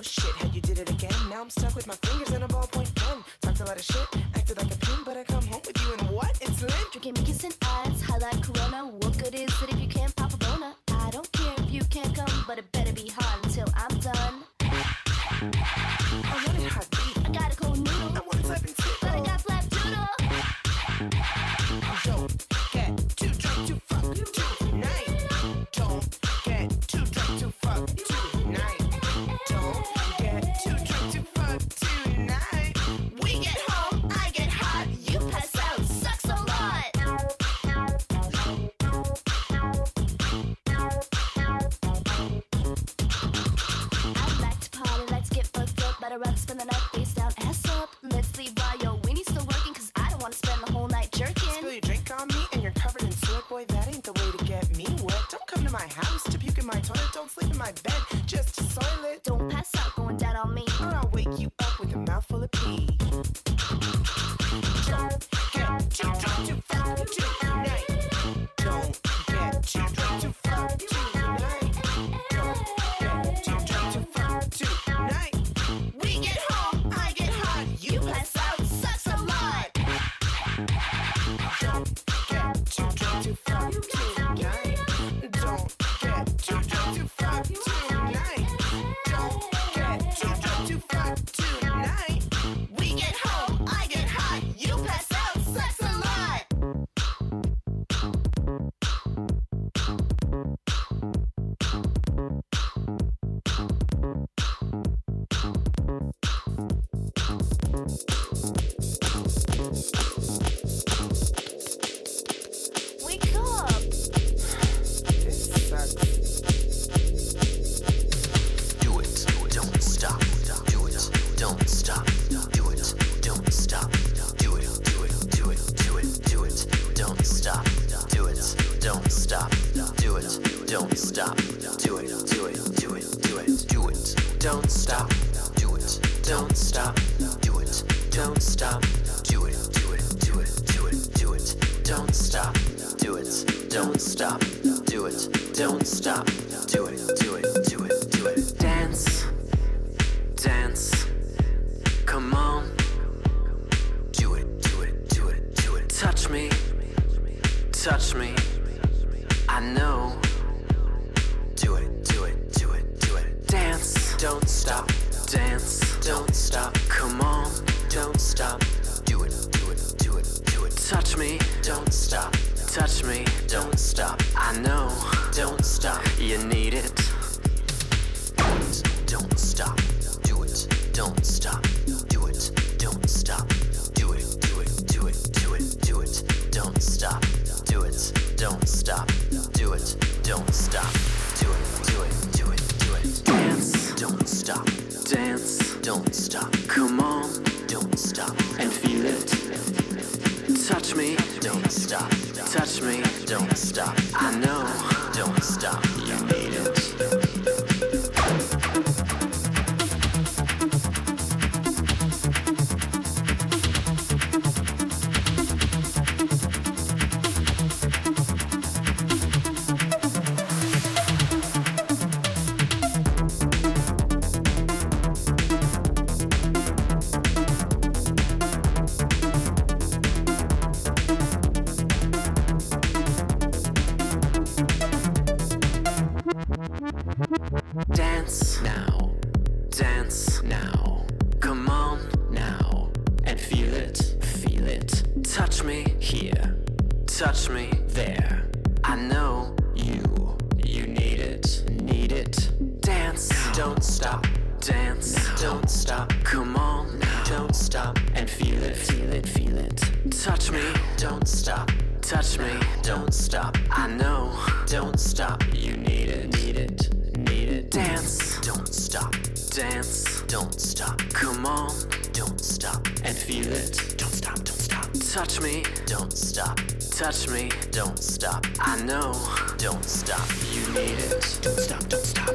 shit, how you did it again. Now I'm stuck with my fingers and a ballpoint pen. Talked a lot of shit, acted like a pimp, but I come home with you and what? It's lit. Drinking me kissing eyes, high like Corona. What good is it if you can't pop a boner? I don't care if you can't come, but it better be hard until I'm done. I wanted hot beef. I got a cold noodle. I wanted slapping too. But I got flap doodle. Don't get too drunk to fuck tonight. Don't get too drunk to fuck tonight. Don't get too drunk to fuck tonight. We get home, I get hot, you pass out, sucks a lot. I like to party, let's get fucked up. Better rock, spend the night face down, ass up. Let's leave while your weenie still working, cause I don't wanna spend the whole night jerking. Spill your drink on me and you're covered in sweat. Boy, that ain't the way to get me wet. Don't come to my house to puke in my toilet. Don't sleep in my bed just to soil it. Don't pass out going down on me, or I'll wake you up with a mouthful of pee. Don't get too drunk to fuck tonight. Don't get too drunk to fuck tonight. Don't get too drunk to fuck tonight. we get home, I get hot, you pass out, sucks a lot. Don't get too drunk to fuck tonight. Don't get too drunk to fuck tonight. Don't get too drunk to fuck tonight. We get home, I get hot, you pass out, sucks a lot. Wake up! This sucks. Do it, don't stop. Do it, don't stop. Do it, don't stop. Do it, do it, do it, do it, do it, don't stop. Do it, don't stop. Do it, don't stop. Do it, do it, do it, do it, do it, don't stop. Do it, don't stop. Do it, don't stop. Do it, do it, do it, do it, do it, don't stop. Do it, don't stop. Do it, don't stop. Do it, do it, do it, do it. Dance, dance, come on. Do it, do it, do it, do it. Touch me, touch me. I know. Do it, do it, do it, do it. Dance, don't stop. Dance, don't stop. Come on, don't stop. Do it, do it, do it, do it. Touch me, don't stop. Touch me, don't stop. I know, don't stop. You need it. Don't stop. Do it, don't stop. Do it, don't stop. Do it, do it, do it, do it, do it. Don't stop. Do it, don't stop. Do it, don't stop. Do it, do it, do it, do it. Dance, don't stop. Dance, don't stop. Come on, don't stop. And feel it. Touch me, don't stop. Touch me, don't stop. I know, don't stop. You need it. Dance now, dance now. Come on now and feel it, feel it. Touch me here, touch me there. I know you need it. Dance, don't stop. Dance, don't stop. Come on, don't stop and feel it, feel it, feel it. Touch me, don't stop. Touch me, don't stop. I know, don't stop. You need it, need it. Dance, don't stop. Dance, don't stop. Come on, don't stop and feel it. Don't stop, don't stop. Touch me, don't stop. Touch me, don't stop. I know, don't stop. You need it. Don't stop, don't stop.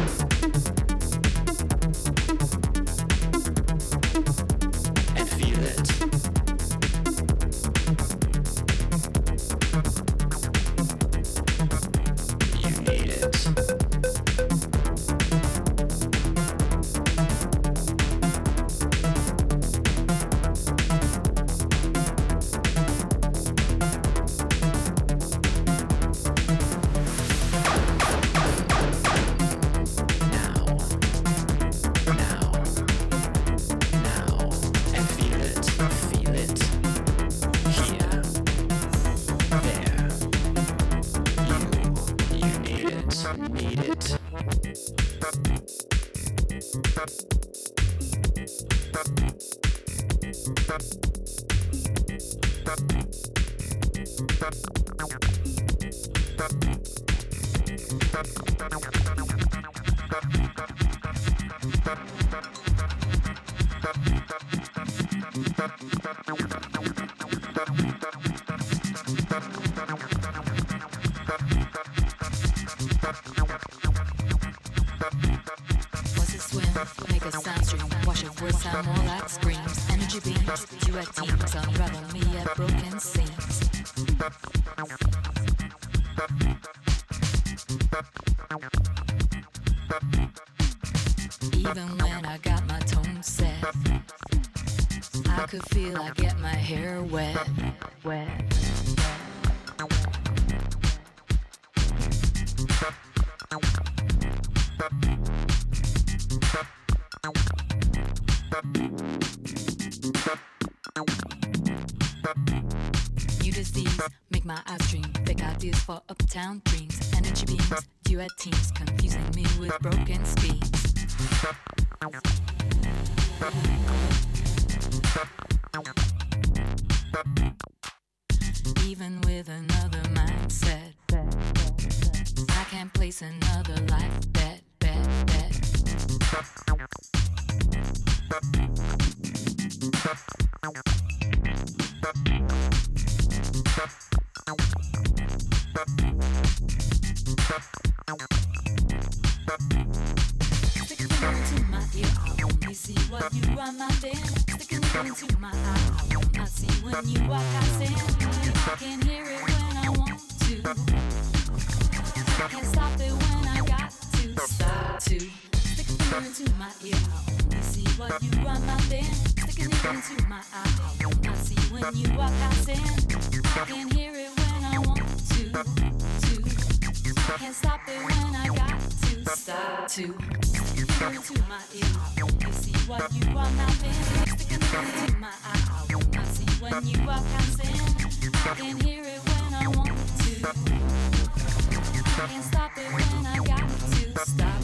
And feel it. You need it. need it. Was it swim? Make a sound stream. Wash your words sound more like screams. Energy beams, duet teams, unravel me at broken seams. Even when I got my tone set, I could feel I get my hair wet. New disease, make my eyes dream. Fake ideas for uptown dreams. Energy beams, duet teams, confusing me with broken schemes. Even with another mindset, I can't place another life bet. Stick it into my ear, I only see what you are, my dear. Sticking it into my eye, I will not see when you walk out in. I can hear it when I want to. I can't stop it when I got to stop to. Stick it into my ear, I only see what you are, my dear. Sticking it into my eye, I will not see when you walk out in. I can hear it when I want to. I can't stop it when I got to stop to. Sticking into my ear, I only see what you are, my dear. Sticking into my eye, I will not see when you walk out in. I can hear it when I want to. I can't stop it when I got to stop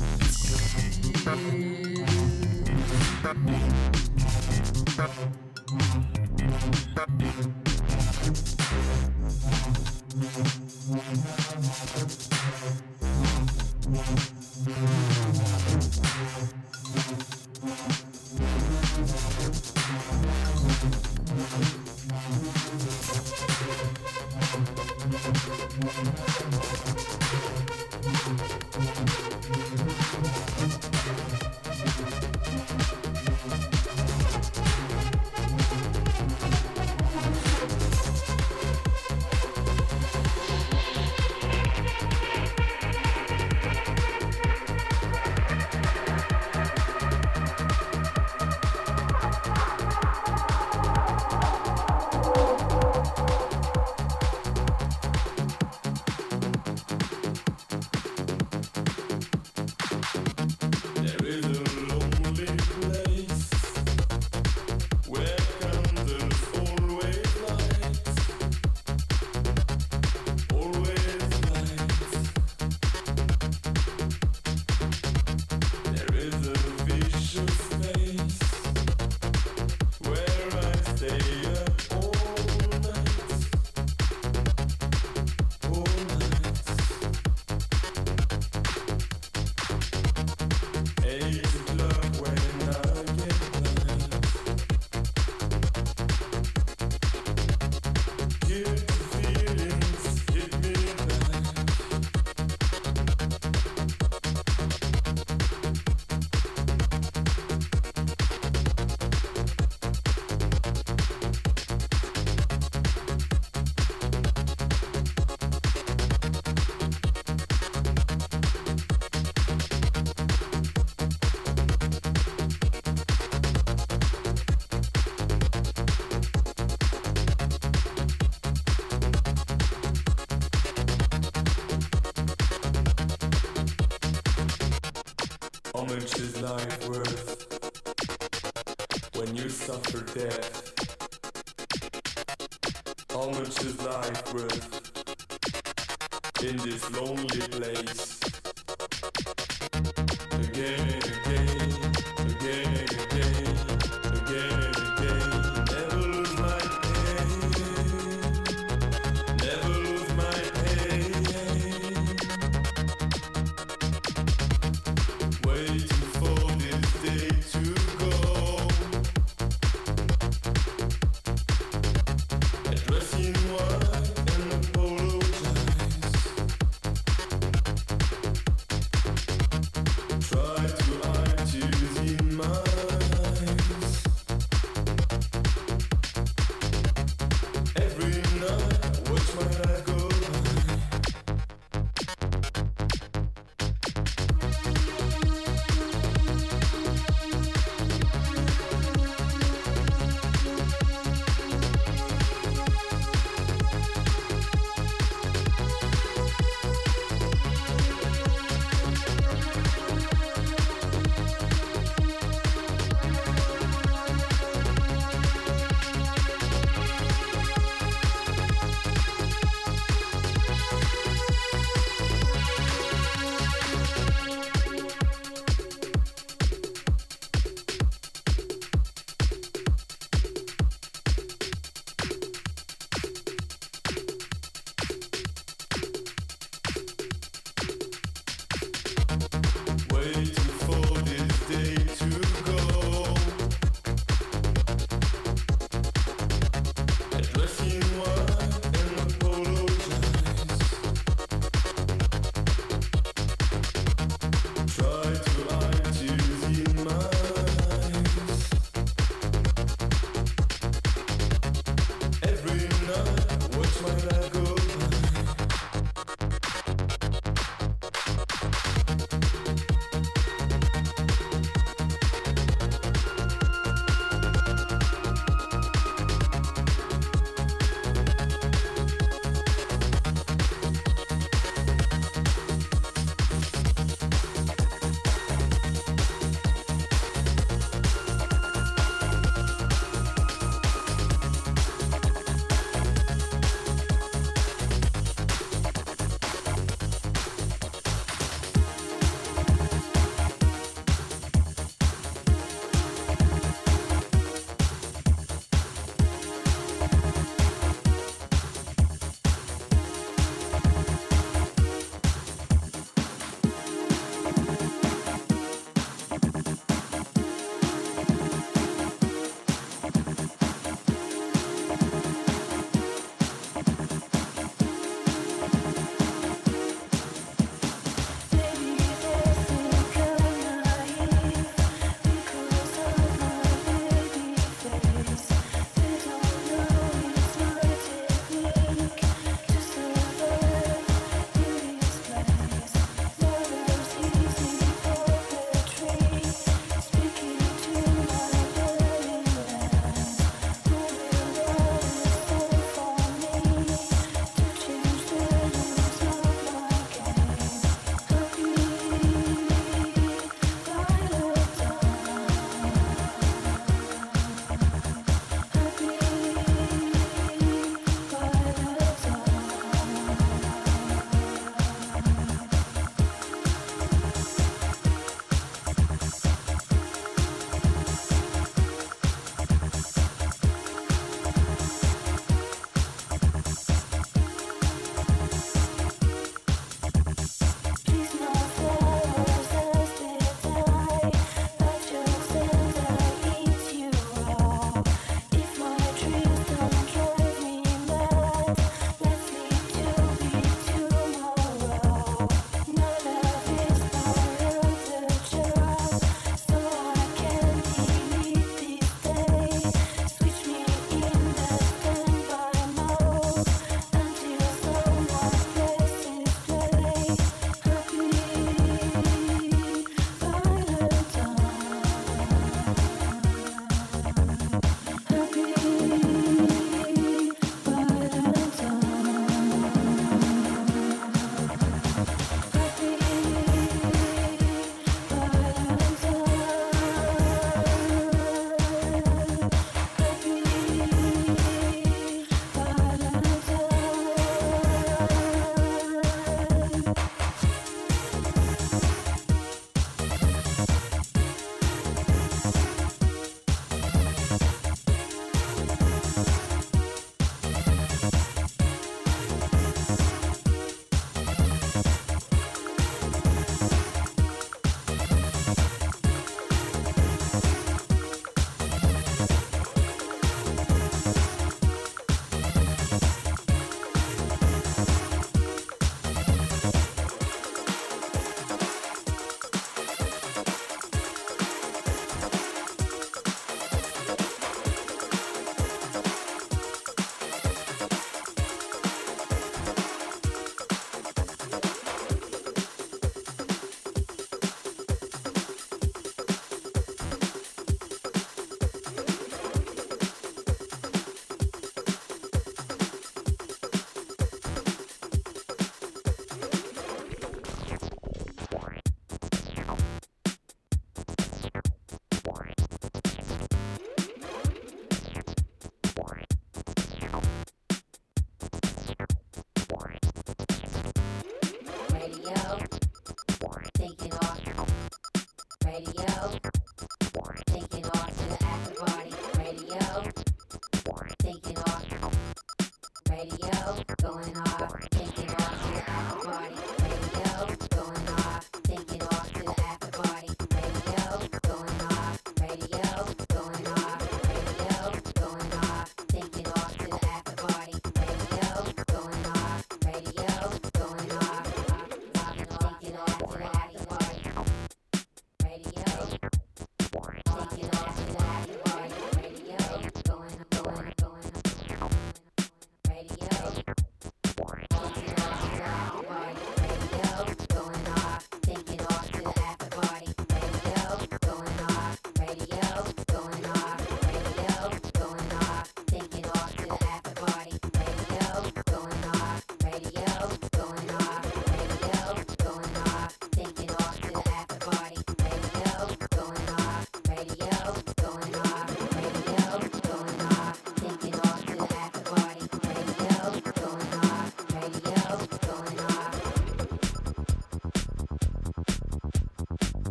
much is life worth when you suffer death? How much is life worth in this lonely place?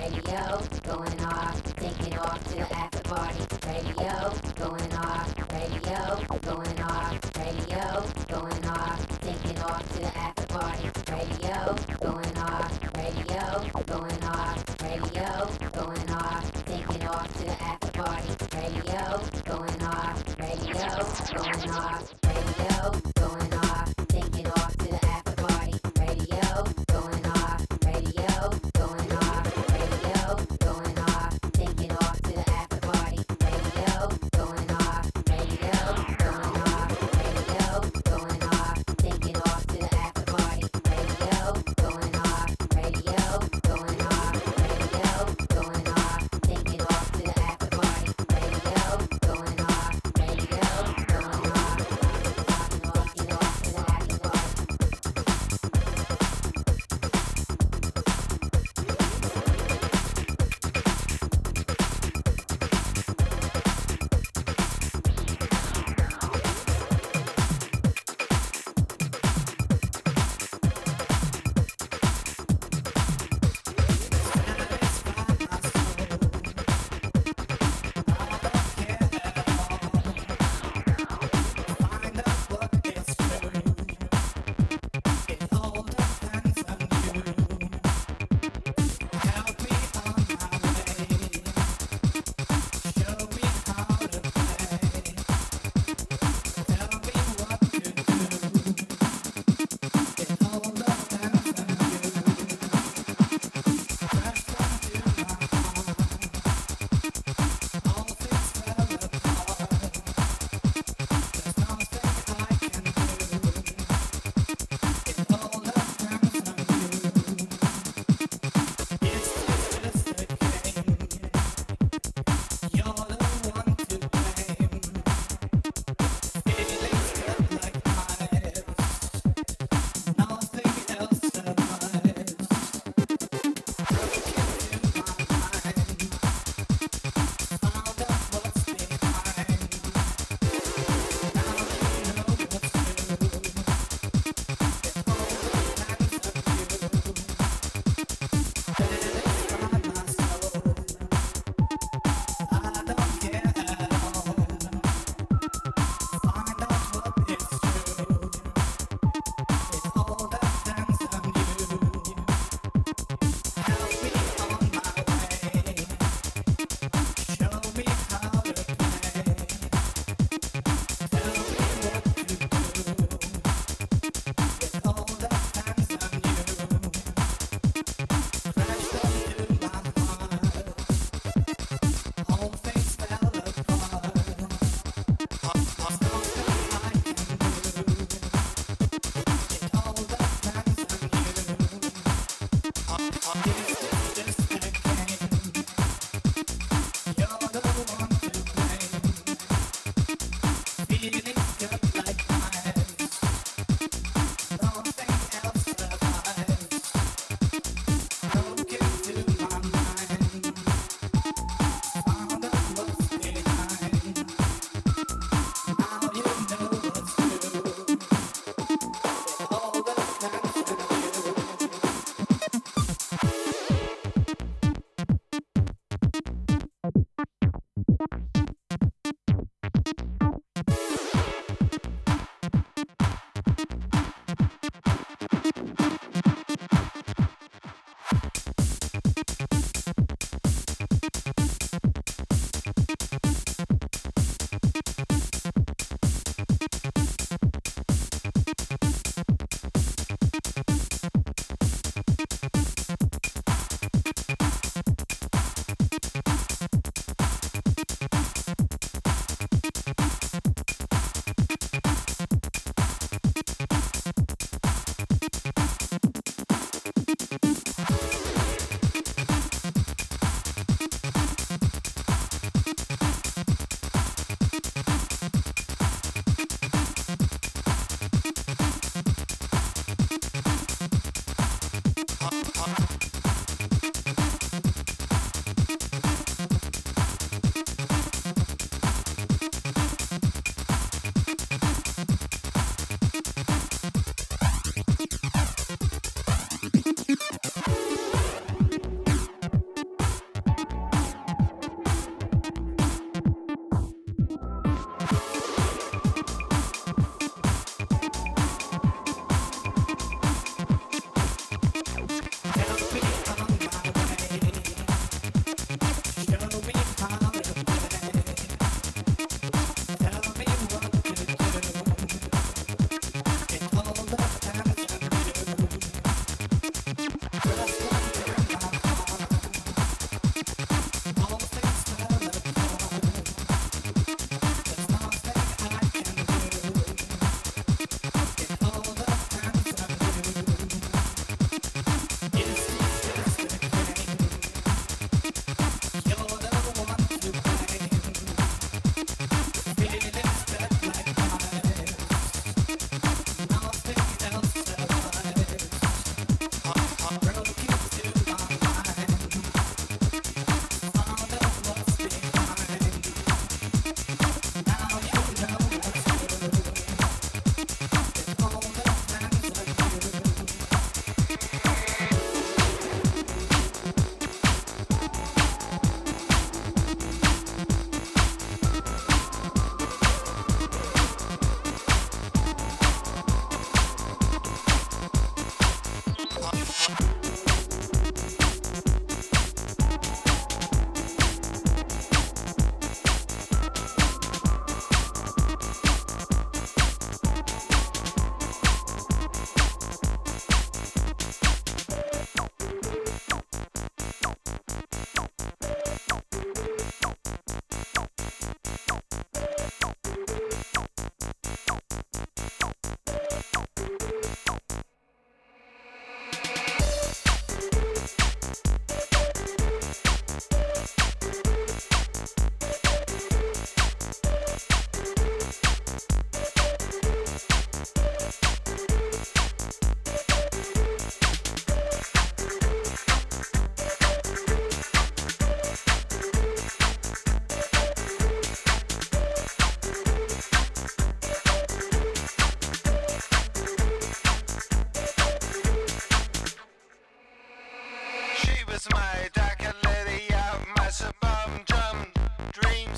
radio, going off, taking off to the after party, radio, going off, radio, going off, radio, going off, taking off to the after party, radio, going off, radio, going off, radio, going off, taking off to the after party, radio, going off, radio, going off, radio, going off, taking off to the after party, radio, going off, radio, going off, radio, going off, taking off to the after party, radio, going off, radio, going off, radio, going off, taking off to the after party, radio, going off, radio, going off, radio, going off, taking off to the after party, radio, going off, radio, going off,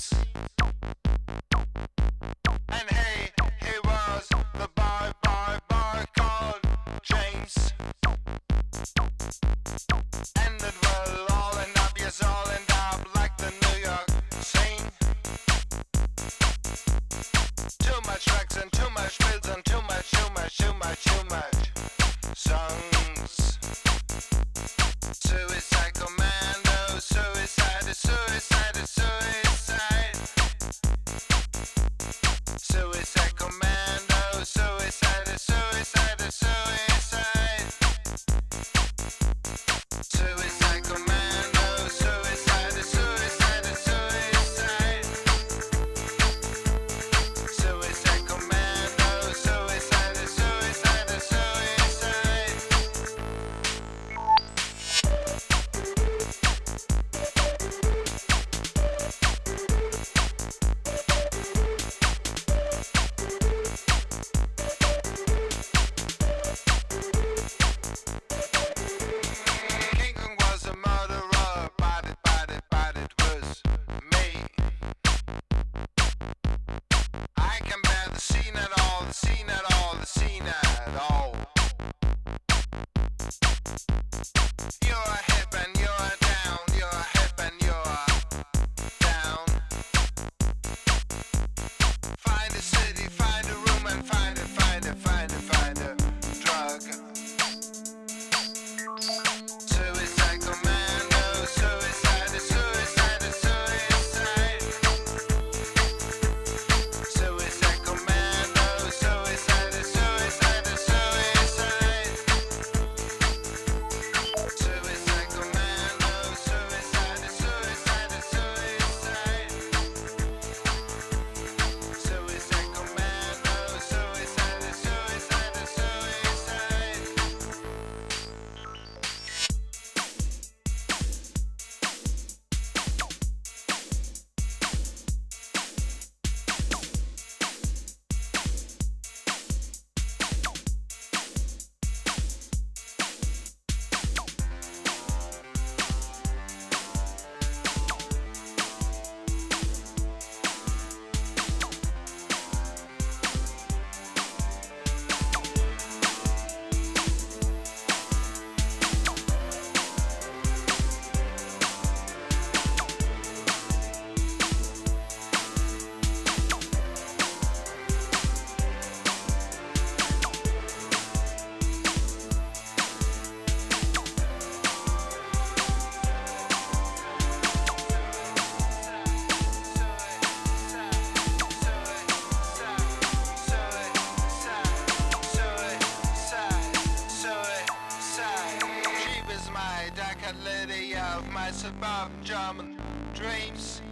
James. And he was the boy called James. And it will all end up, yes, all end up like the New York scene. Too much drugs and too much pills and too much songs. Suicide commando, suicide is suicide is suicide. Suicide commando, suicide is suicide is suicide. Suicide commando, suicide is suicide is suicide. Suicide commando, suicide is suicide is suicide. King Kong was a murderer, but it was me. I can bear the scene at all, the scene at all, the scene at all. You're hip and you're down, you're hip and you're down. Find a city, find a room and find a drug. Suicide commando, suicide is suicide is suicide. Suicide commando, suicide is suicide is suicide. Suicide commando, suicide is suicide is suicide. Suicide commando, suicide is suicide is suicide. She was my dark lady of my suburban German dreams.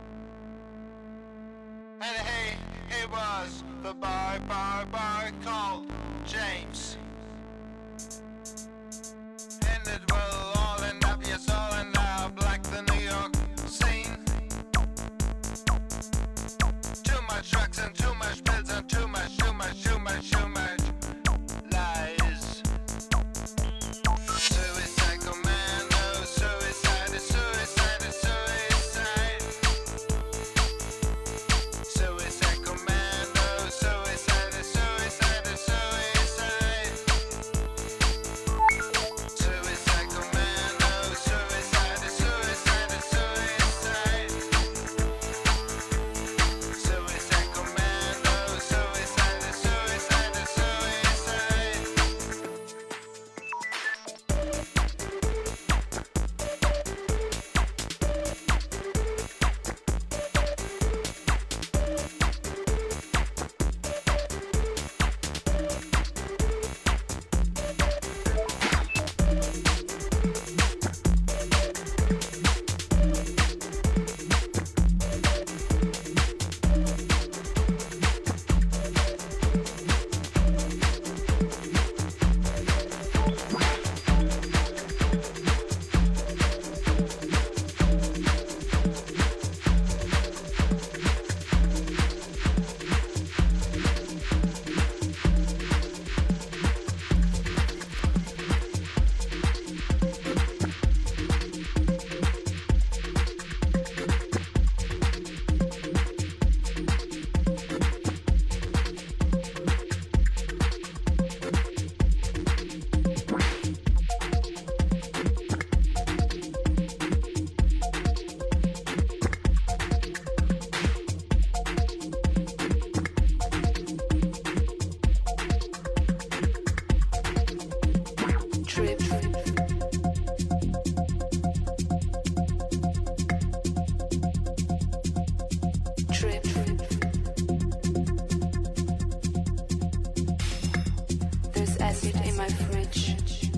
And he was the boy called James. And it will all end up, yes, all end up like the New York scene. Too much drugs and too much pills and too much lies. Suicide commando, suicide is suicide is suicide. Suicide commando, suicide is suicide is suicide. There's acid in my fridge.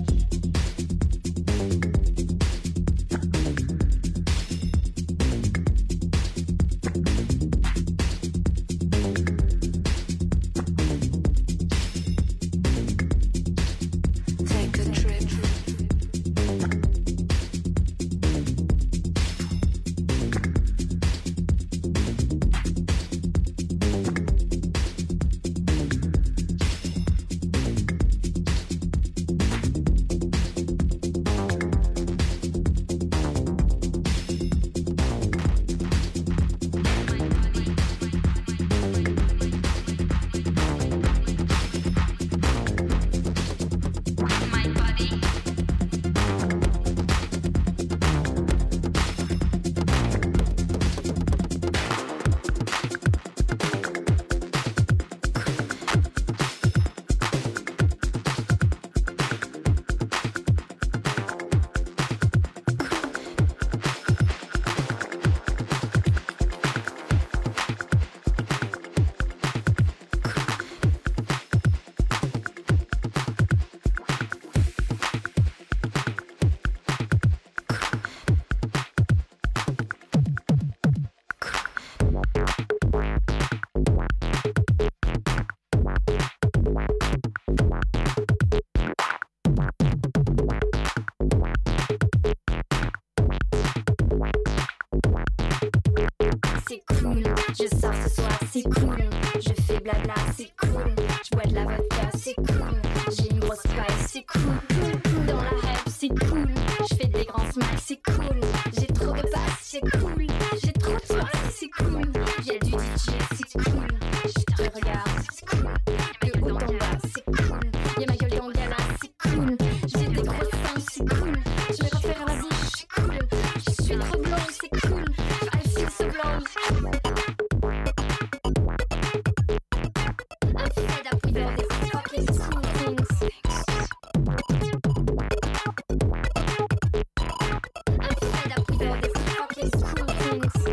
Take a trip. C'est cool, je sors ce soir, c'est cool. Je fais blabla, c'est cool. Je bois de la vodka, c'est cool. J'ai une grosse paille, c'est cool. Dans la rêve, c'est cool. Je fais des grands smiles, c'est cool. J'ai trop de basse, c'est cool. J'ai trop de soirées, c'est cool. Y'a du DJ, c'est cool. Je te regarde, c'est cool. De haut en bas, c'est cool. Y'a ma gueule dans le gala, c'est cool. J'ai des grosses seins, c'est cool. Je vais refaire la bouche, c'est cool. Je suis trop blonde, c'est cool. I feel so blonde. I'm fed up with all these fucking cool things. I'm fed up with all these fucking cool things.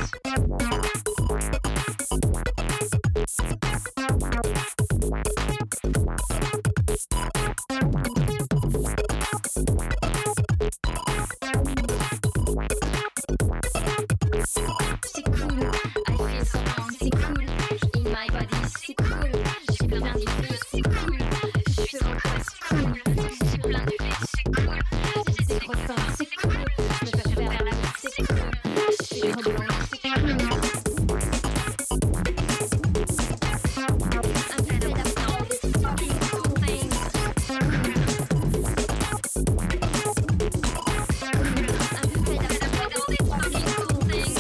C'est cool, I feel so wrong, c'est cool. In my body, c'est cool. J'ai plein d'idées, c'est cool. Je suis en quoi, c'est cool. J'ai plein d'idées, c'est cool. J'ai des gros seins, c'est cool. Je me fais faire la bouche, c'est cool. Je suis trop blonde, c'est cool. I'm fed up with all these fucking cool things. I'm fed up with all these fucking cool things.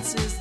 glasses